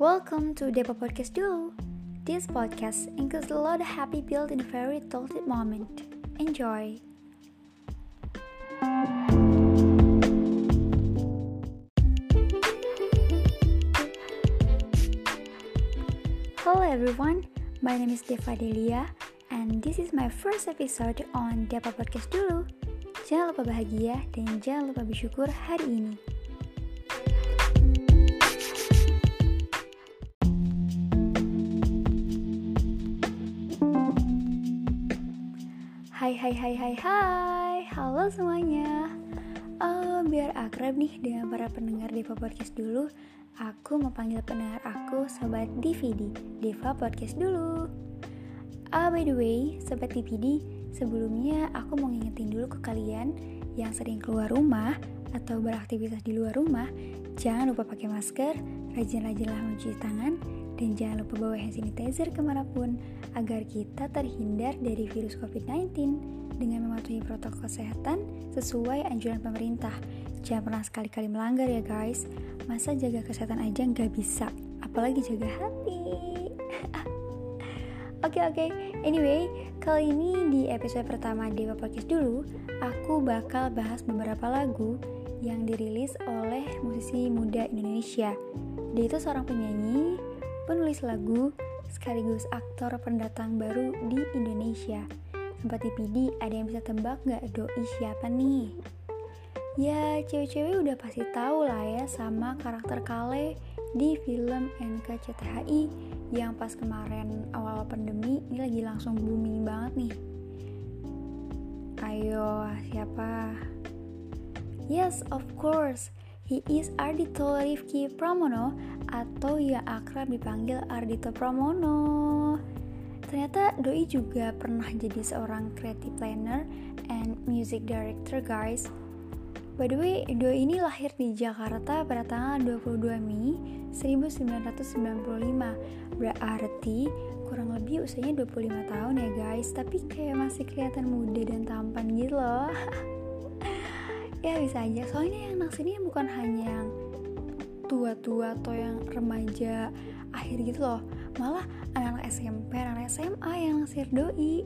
Welcome to Depa Podcast dulu. This podcast includes a lot of happy built in a very tilted moment. Enjoy. Hello everyone, my name is Deva Delia and this is my first episode on Depa Podcast dulu. Jangan lupa bahagia dan jangan lupa bersyukur hari ini. Hai, halo semuanya. Biar akrab nih dengan para pendengar Deva Podcast dulu, aku mau panggil pendengar aku Sobat DVD, Deva Podcast dulu. By the way, Sobat DVD, sebelumnya aku mau ngingetin dulu ke kalian yang sering keluar rumah atau beraktivitas di luar rumah, jangan lupa pakai masker, rajin-rajinlah mencuci tangan, dan jangan lupa bawa hand sanitizer kemanapun agar kita terhindar dari virus COVID-19 dengan mematuhi protokol kesehatan sesuai anjuran pemerintah. Jangan pernah sekali-kali melanggar ya guys. Masa jaga kesehatan aja nggak bisa, apalagi jaga hati. Oke. Anyway, kali ini di episode pertama Dewa Podcast dulu, aku bakal bahas beberapa lagu yang dirilis oleh musisi muda Indonesia. Dia itu seorang penyanyi, penulis lagu, sekaligus aktor pendatang baru di Indonesia. Sobat TPD, ada yang bisa tebak gak doi siapa nih? Ya, cewek-cewek udah pasti tahu lah ya sama karakter Kale di film NKCTHI yang pas kemarin awal pandemi ini lagi langsung booming banget nih. Ayo, siapa? Yes, of course. He is Ardhito Rifky Pramono atau yang akrab dipanggil Ardhito Pramono. Ternyata Doi juga pernah jadi seorang creative planner and music director guys. By the way, Doi ini lahir di Jakarta pada tanggal 22 Mei 1995. Berarti kurang lebih usianya 25 tahun ya guys. Tapi kayak masih kelihatan muda dan tampan gitu loh. Ya bisa aja, soalnya yang naksirnya bukan hanya yang tua-tua atau yang remaja akhir gitu loh, malah anak-anak SMP, anak SMA yang naksir Doi.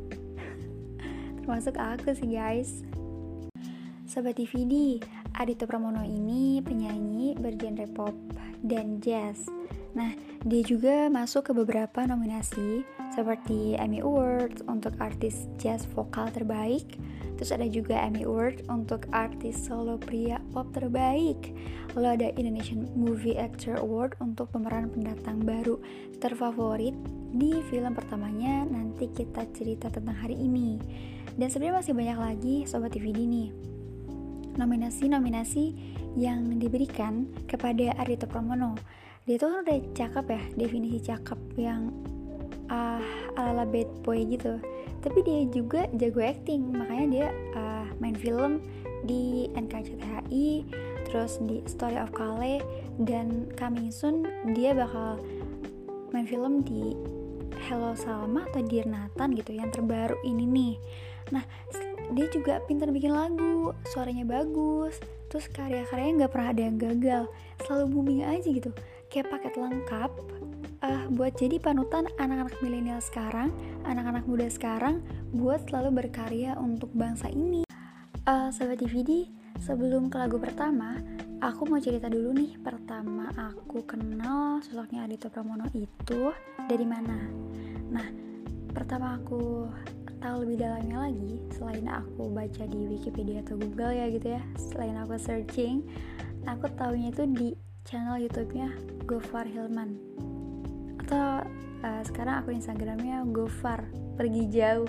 Termasuk aku sih guys. Sobat DVD, Ardhito Pramono ini penyanyi bergenre pop dan jazz. Nah, dia juga masuk ke beberapa nominasi seperti Emmy Awards untuk artis jazz vokal terbaik. Terus ada juga Emmy Award untuk artis solo pria pop terbaik. Lalu ada Indonesian Movie Actor Award untuk pemeran pendatang baru terfavorit di film pertamanya. Nanti kita cerita tentang hari ini. Dan sebenarnya masih banyak lagi Sobat DVD nih nominasi-nominasi yang diberikan kepada Ardhito Pramono. Dia tuh kan udah cakep ya, definisi cakep yang ala-ala bad boy gitu. Tapi dia juga jago acting, makanya dia main film di NKCTHI, terus di Story of Kale, dan coming soon dia bakal main film di Hello Salma atau Dear Nathan gitu, yang terbaru ini nih. Nah, dia juga pintar bikin lagu, suaranya bagus, terus karya-karyanya gak pernah ada yang gagal, selalu booming aja gitu, kayak paket lengkap buat jadi panutan anak-anak milenial sekarang, anak-anak muda sekarang, buat selalu berkarya untuk bangsa ini. Sobat DVD, sebelum ke lagu pertama, aku mau cerita dulu nih, pertama aku kenal sosoknya Ardhito Pramono itu dari mana. Nah, pertama aku tahu lebih dalamnya lagi, selain aku baca di Wikipedia atau Google ya gitu ya, selain aku searching, aku taunya itu di channel YouTube-nya Gofar Hilman, atau sekarang akun Instagramnya Gofar Pergi Jauh.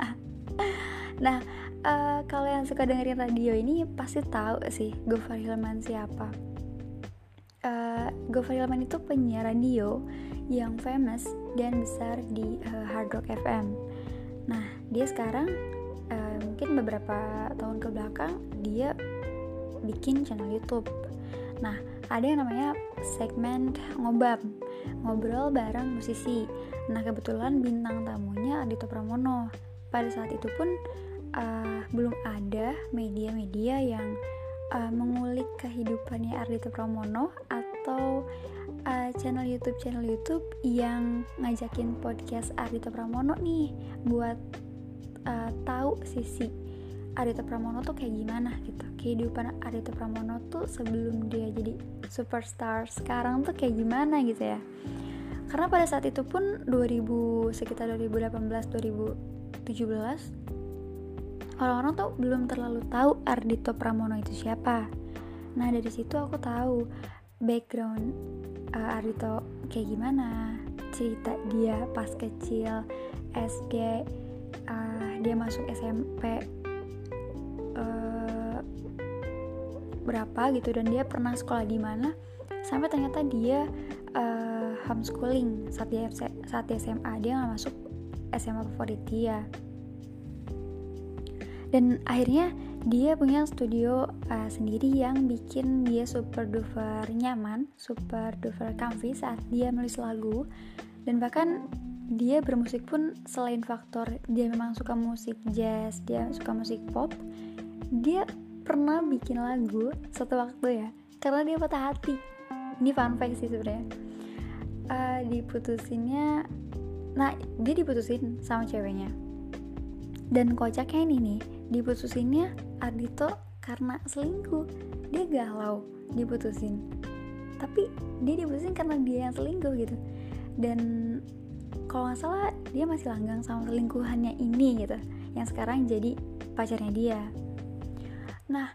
Nah, kalau yang suka dengerin radio ini pasti tahu sih Gofar Hilman siapa. Gofar Hilman itu penyiar radio yang famous dan besar di Hard Rock FM. Nah, dia sekarang mungkin beberapa tahun ke belakang dia bikin channel YouTube. Nah, ada yang namanya segmen ngobam, ngobrol bareng musisi. Nah, kebetulan bintang tamunya Ardhito Pramono. Pada saat itu pun belum ada media-media yang mengulik kehidupannya Ardhito Pramono atau channel YouTube yang ngajakin podcast Ardhito Pramono nih buat tahu sisi Ardhito Pramono tuh kayak gimana gitu, kehidupan Ardhito Pramono tuh sebelum dia jadi superstar sekarang tuh kayak gimana gitu ya. Karena pada saat itu pun sekitar 2018-2017 orang-orang tuh belum terlalu tahu Ardhito Pramono itu siapa. Nah dari situ aku tahu background Ardhito kayak gimana, cerita dia pas kecil, SD, dia masuk SMP berapa gitu, dan dia pernah sekolah di mana, sampai ternyata dia homeschooling saat di SMA. Dia nggak masuk SMA favorit dia, dan akhirnya dia punya studio sendiri yang bikin dia super duper nyaman, super duper comfy saat dia menulis lagu. Dan bahkan dia bermusik pun selain faktor dia memang suka musik jazz, dia suka musik pop, dia pernah bikin lagu satu waktu ya, karena dia patah hati. Ini fun fact sih sebenarnya. Dia diputusin sama ceweknya, dan kocaknya ini nih, diputusinnya Ardhito karena selingkuh. Dia galau diputusin, tapi dia diputusin karena dia yang selingkuh gitu. Dan kalau nggak salah dia masih langgang sama selingkuhannya ini gitu, yang sekarang jadi pacarnya dia. Nah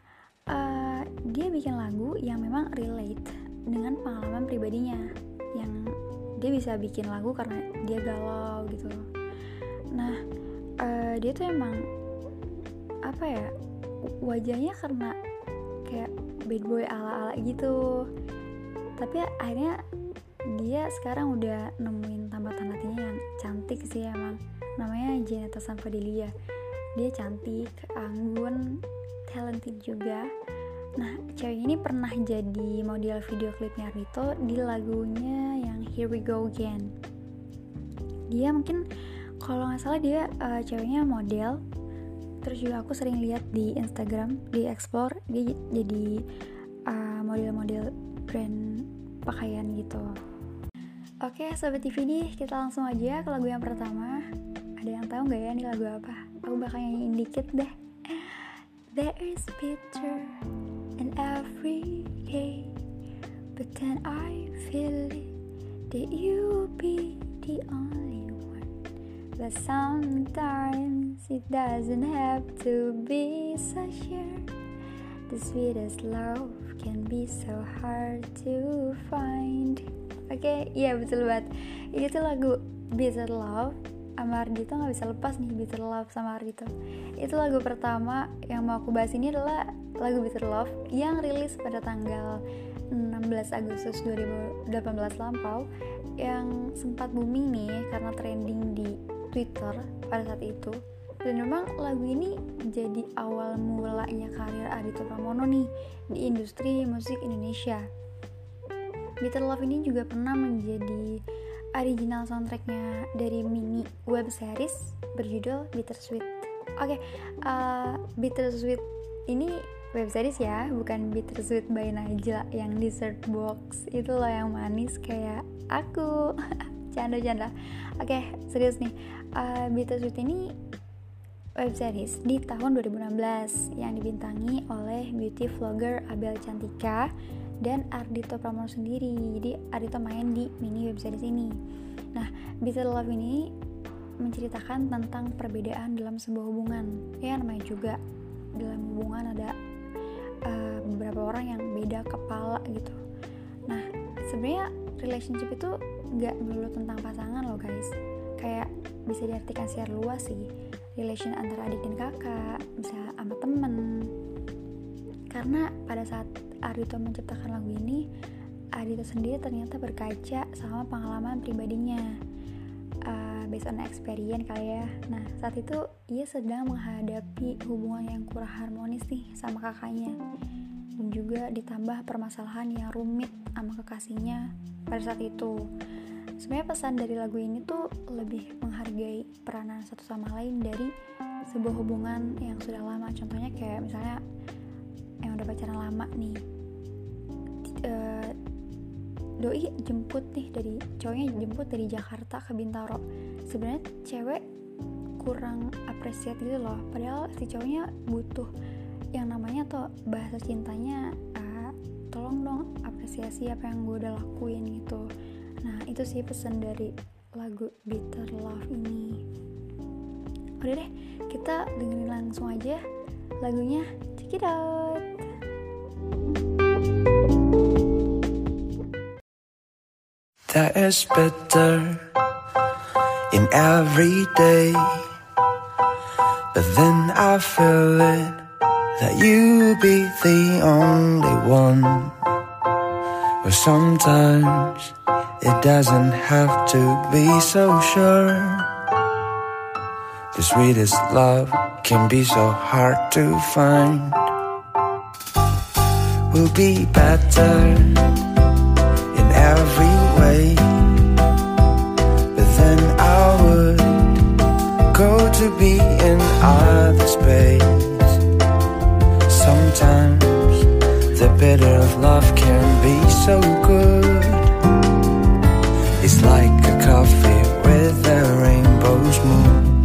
dia bikin lagu yang memang relate dengan pengalaman pribadinya, yang dia bisa bikin lagu karena dia galau gitu. Nah dia tuh emang apa ya, wajahnya karena kayak bad boy ala-ala gitu, tapi akhirnya dia sekarang udah nemuin tambatan hatinya yang cantik sih emang. Namanya Jeneta Sanfadilia. Dia cantik, anggun, talented juga. Nah cewek ini pernah jadi model video klipnya Ardhito di lagunya yang Here We Go Again. Dia mungkin kalau nggak salah dia ceweknya model. Terus juga aku sering lihat di Instagram, di explore, dia jadi model-model brand pakaian gitu. Oke Sobat TVD, kita langsung aja ke lagu yang pertama. Ada yang tahu nggak ya ini lagu apa? Aku bakal nyanyiin dikit deh. There is bitter in every day, but then I feel it that you be the only one. But sometimes it doesn't have to be so sure. The sweetest love can be so hard to find. Oke, iya betul banget. Ini tuh lagu Bitter Love sama Ardhito, gak bisa lepas nih Bitter Love sama Ardhito. Itu lagu pertama yang mau aku bahas ini adalah lagu Bitter Love yang rilis pada tanggal 16 Agustus 2018 lampau, yang sempat booming nih karena trending di Twitter pada saat itu. Dan memang lagu ini jadi awal mulanya karir Ardhito Pramono nih di industri musik Indonesia. Bitter Love ini juga pernah menjadi original soundtracknya dari mini web series berjudul Bittersweet. Oke, Bittersweet ini web series ya, bukan Bittersweet by Najla yang dessert box itu loh, yang manis kayak aku. Canda-canda. Oke, serius nih. Bittersweet ini web series di tahun 2016 yang dibintangi oleh beauty vlogger Abel Cantika dan Ardhito Pramono sendiri. Jadi Ardhito main di mini web series ini. Nah, Bitter Love ini menceritakan tentang perbedaan dalam sebuah hubungan. Ya namanya juga dalam hubungan ada beberapa orang yang beda kepala gitu. Nah, sebenarnya relationship itu gak melulu tentang pasangan loh guys. Kayak bisa diartikan secara luas sih. Relation antara adik dan kakak, bisa sama temen. Karena pada saat Ardhito menciptakan lagu ini, Ardhito sendiri ternyata berkaca sama pengalaman pribadinya, based on experience kali ya. Nah saat itu ia sedang menghadapi hubungan yang kurang harmonis nih sama kakaknya, dan juga ditambah permasalahan yang rumit sama kekasihnya pada saat itu. Sebenarnya pesan dari lagu ini tuh lebih menghargai peranan satu sama lain dari sebuah hubungan yang sudah lama. Contohnya kayak misalnya yang udah pacaran lama nih, doi jemput nih cowoknya jemput dari Jakarta ke Bintaro. Sebenarnya cewek kurang apresiat gitu loh, padahal si cowoknya butuh yang namanya tuh bahasa cintanya, tolong dong apresiasi apa yang gue udah lakuin gitu. Nah itu sih pesan dari lagu Bitter Love ini. Udah deh, kita dengerin langsung aja lagunya, check it out. There is bitter in every day, but then I feel it that you be the only one. But sometimes it doesn't have to be so sure. The sweetest love can be so hard to find. We'll be better in every way, but then I would go to be in other space. Sometimes the bitter of love can be so good. It's like a coffee with a rainbow's mood.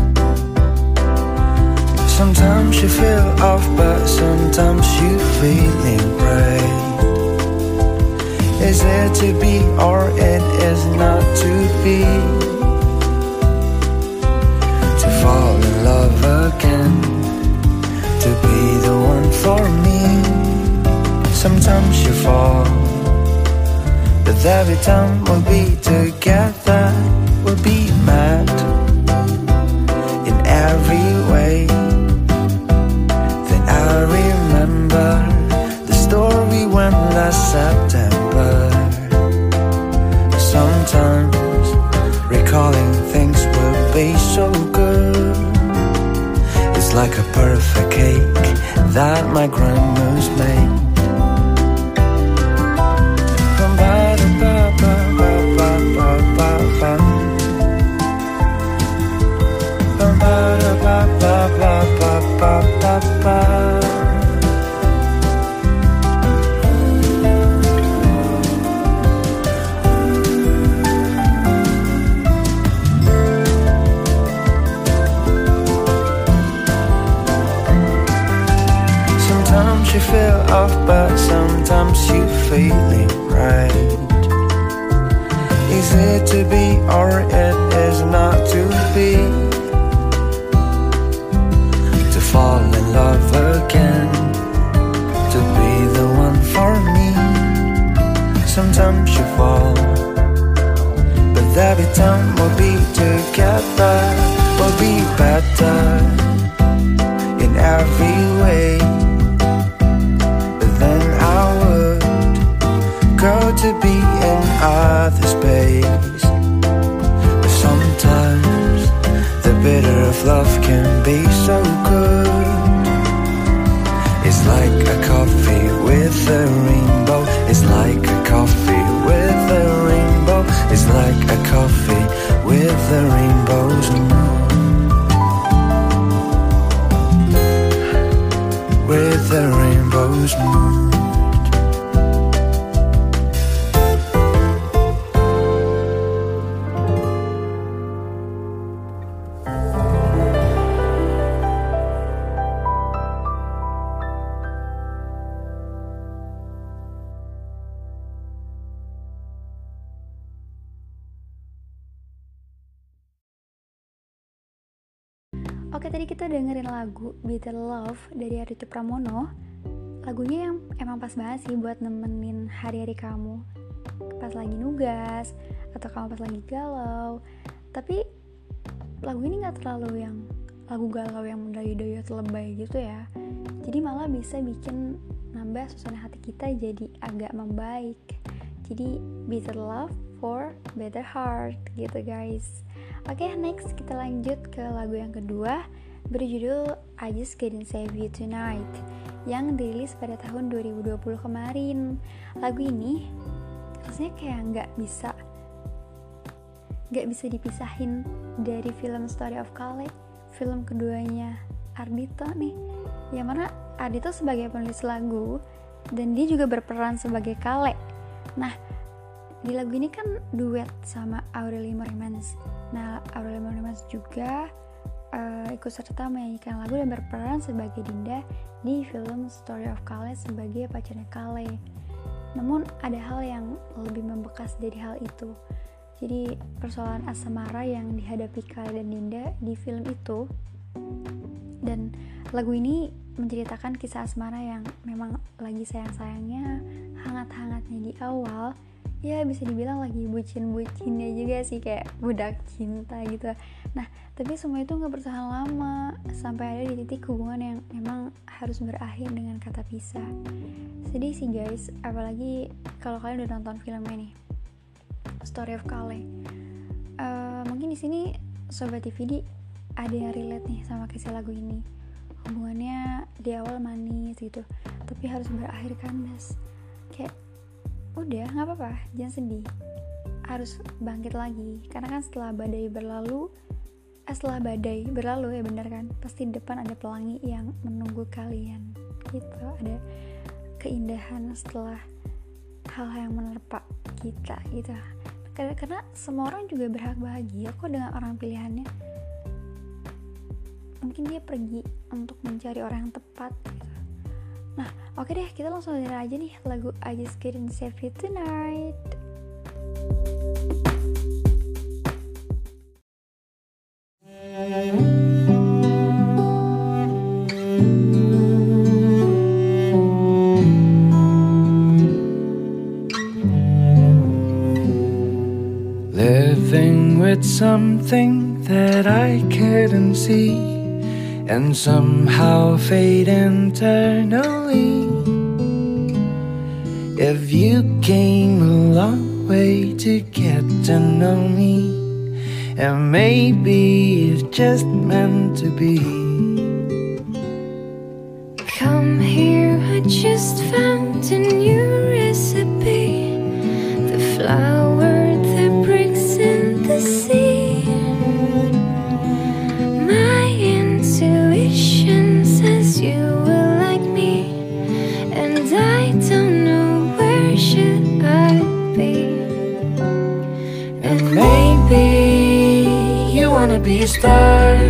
Sometimes you feel off, but sometimes you feeling right. Is it to be or it is not to be? To fall in love again, to be the one for me. Sometimes you fall, but every time we'll be together, we'll be mad in every way. Then I remember the story when last September. Sometimes recalling things will be so good. It's like a perfect cake that my grandma's made. Sometimes you feel off, but sometimes you feeling right. Is it to be or it is not to be? To fall in love again, to be the one for me. Sometimes you fall, but every time we'll be together, we'll be better in every way. But then I would go to be in other space. But sometimes the bitter of love can be so good. It's like a coffee with a rainbow. It's like a coffee with a rainbow. It's like a coffee with a rainbow's moon. With a rainbow's moon. Oke, tadi kita dengerin lagu Bitter Love dari Aditya Pramono. Lagunya yang emang pas banget sih buat nemenin hari-hari kamu, pas lagi nugas atau kamu pas lagi galau. Tapi lagu ini gak terlalu yang lagu galau yang mendayu-dayu atau lebay gitu ya. Jadi malah bisa bikin nambah suasana hati kita jadi agak membaik. Jadi Bitter Love for Better Heart gitu guys. Oke, next kita lanjut ke lagu yang kedua berjudul I Just Couldn't Save You Tonight yang dirilis pada tahun 2020 kemarin. Lagu ini rasanya kayak nggak bisa dipisahin dari film Story of Kale, film keduanya Ardhito nih, yang mana Ardhito sebagai penulis lagu dan dia juga berperan sebagai Kale. Nah, di lagu ini kan duet sama Aureli Moremans. Nah, Aureli Moremans juga ikut serta menyanyikan lagu dan berperan sebagai Dinda di film Story of Kale sebagai pacarnya Kale. Namun ada hal yang lebih membekas dari hal itu. Jadi persoalan asmara yang dihadapi Kale dan Dinda di film itu. Dan lagu ini menceritakan kisah asmara yang memang lagi sayang-sayangnya, hangat-hangatnya di awal. Ya bisa dibilang lagi bucin-bucinnya juga sih, kayak budak cinta gitu. Nah tapi semua itu gak bertahan lama, sampai ada di titik hubungan yang memang harus berakhir dengan kata pisah. Sedih sih guys, apalagi kalau kalian udah nonton filmnya nih, Story of Kale. Mungkin di sini Sobat TVD ada yang relate nih sama kisah lagu ini. Hubungannya di awal manis gitu, tapi harus berakhir kandas. Kayak udah gak apa-apa, jangan sedih, harus bangkit lagi. Karena kan setelah badai berlalu ya benar kan, pasti di depan ada pelangi yang menunggu kalian gitu. Ada keindahan setelah hal yang menerpa kita gitu. Karena semua orang juga berhak bahagia kok dengan orang pilihannya. Mungkin dia pergi untuk mencari orang yang tepat gitu. Nah oke deh, kita langsung dengerin aja nih lagu I Just Couldn't Save You Tonight. Living with something that I couldn't see, and somehow fade internally. If you came a long way to get to know me, and maybe it's just meant to be. Come here, I just found a new recipe. The flower that breaks in the sea. My intuition says you will like me, and I don't know where should I be. And maybe you wanna be a star.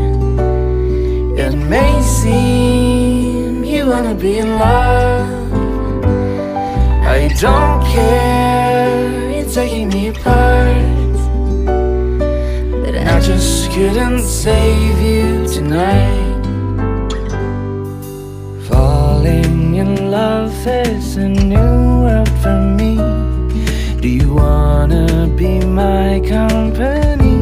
It may seem you wanna be in love. I don't care, it's taking me apart, but I just couldn't save you tonight. Falling in love is a new world for me. Do you wanna be my company?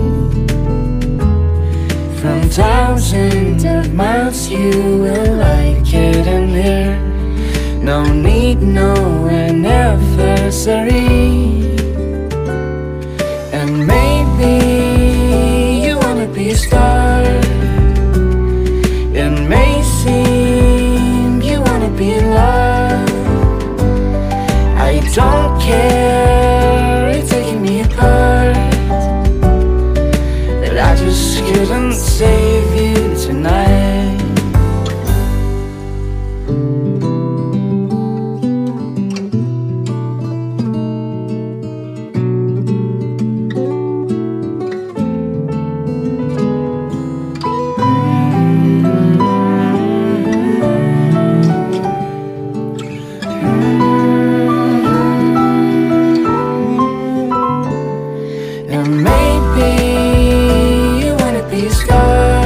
From thousands of miles you will like it in here. No need, no anniversary. And maybe you wanna be a star. It may seem you wanna be in love. I don't care, it's taking me apart, but I just couldn't save you tonight. And maybe you wanna be a star.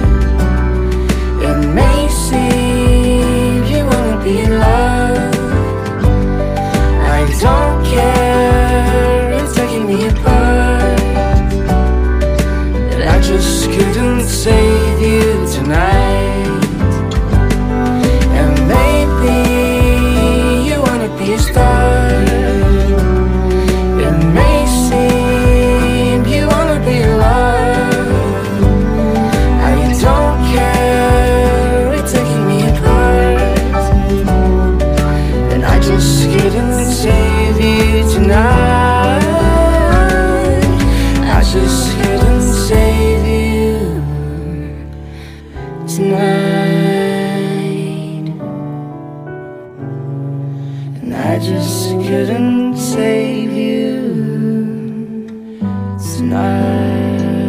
It may seem you wanna be in love. I don't care, it's taking me apart, but I just couldn't save you tonight. And maybe you wanna be a star. It may seem you wanna be in love. I don't care, it's taking me apart, and I just couldn't save you tonight. I just couldn't save you tonight, and I just couldn't save you. tonight.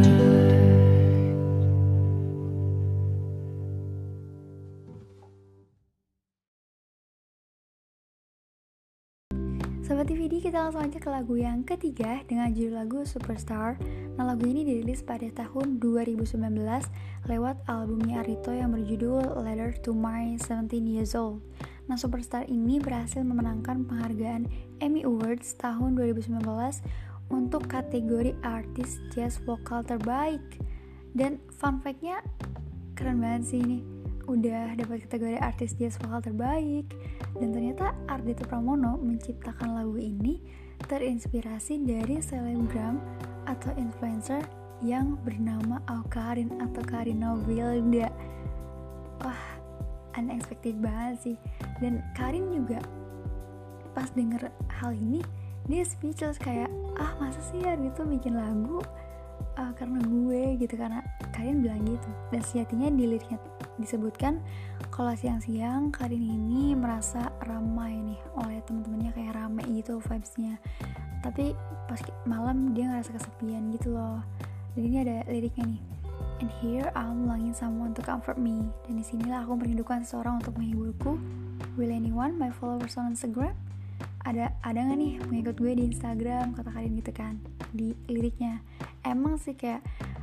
Sobat TVD, kita langsung aja ke lagu yang ketiga dengan judul lagu Superstar. Nah, lagu ini dirilis pada tahun 2019 lewat albumnya Ardhito yang berjudul Letter to My 17 Years Old. Nah, Superstar ini berhasil memenangkan penghargaan Emmy Awards tahun 2019 untuk kategori artis jazz vokal terbaik. Dan fun fact-nya keren banget sih ini, udah dapat kategori artis jazz vokal terbaik. Dan ternyata Ardhito Pramono menciptakan lagu ini terinspirasi dari selebgram atau influencer yang bernama Awkarin atau Karina Wilda. Wah, unexpected banget sih. Dan Karin juga pas denger hal ini dia speechless, kayak masa sih Ardhito bikin lagu karena gue gitu, karena Karin bilang gitu. Dan sejatinya di liriknya disebutkan kalau siang-siang Karin ini merasa ramai nih oleh teman-temannya, kayak rame gitu vibes-nya, tapi pas malam dia ngerasa kesepian gitu loh. Dan ini ada liriknya nih, and here I'm longing someone to comfort me. Dan disinilah aku merindukan seseorang untuk menghiburku. Will anyone my followers on Instagram? Ada nggak nih pengikut gue di Instagram, kata Karin gitu kan di liriknya. Emang sih kayak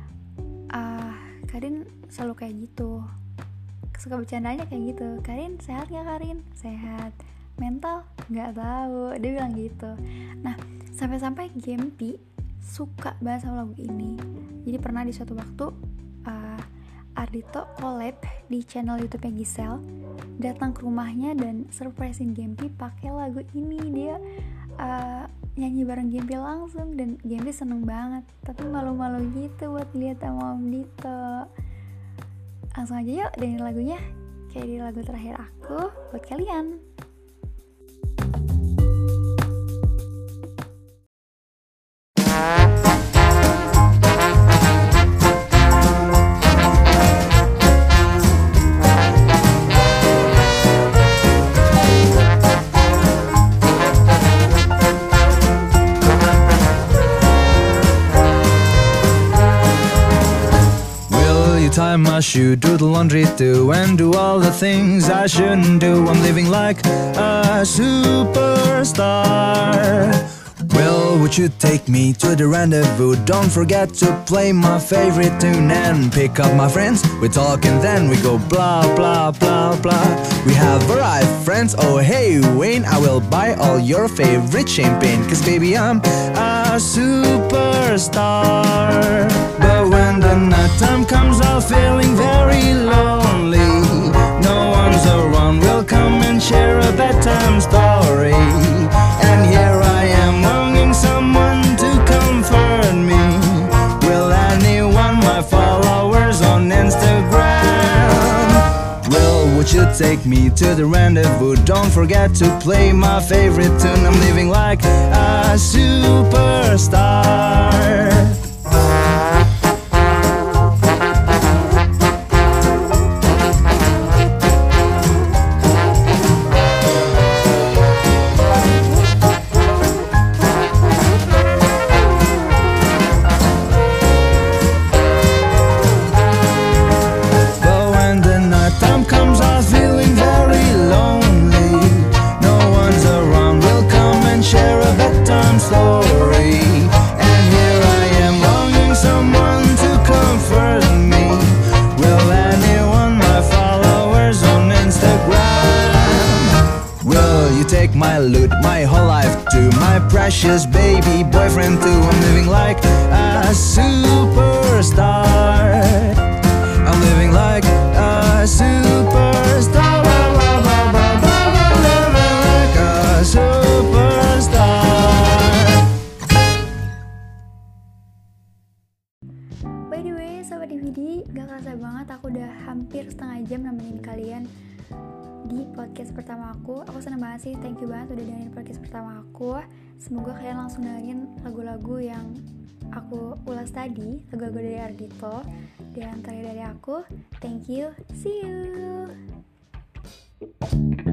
Karin selalu kayak gitu, suka bercandanya kayak gitu. Karin sehat gak Karin? Sehat. Mental? Gak tahu, dia bilang gitu. Nah, sampai-sampai Gempi suka banget sama lagu ini. Jadi pernah di suatu waktu Ardhito collab di channel YouTube-nya Giselle, datang ke rumahnya dan surprisein Gempi pakai lagu ini. Dia nyanyi bareng Gempi langsung, dan Gempi seneng banget, tapi malu-malu gitu buat lihat sama Om Dito. Langsung aja yuk dengerin lagunya, kayak di lagu terakhir aku buat kalian. Tie my shoe, do the laundry too, and do all the things I shouldn't do. I'm living like a superstar. Well, would you take me to the rendezvous? Don't forget to play my favorite tune and pick up my friends. We talk and then we go blah blah blah blah. We have arrived, friends. Oh hey Wayne, I will buy all your favorite champagne, 'cause baby I'm a superstar. But when the night time comes, I'm feeling very lonely. No one's around, we'll come and share a bedtime story. And here I am longing someone to comfort me. Will anyone my followers on Instagram? Well, would you take me to the rendezvous? Don't forget to play my favorite tune. I'm living like a superstar. My loot, my whole life too, my precious baby boyfriend too. I'm living like a superstar. I'm living like a superstar. Living like a superstar. By the way, Sobat DVD, gak kerasa banget aku udah hampir setengah jam nemenin kalian di podcast pertama aku. Aku seneng banget sih, thank you banget udah dengerin podcast pertama aku. Semoga kalian langsung dengerin lagu-lagu yang aku ulas tadi, lagu-lagu dari Ardhito. Dan terakhir dari aku, thank you, see you.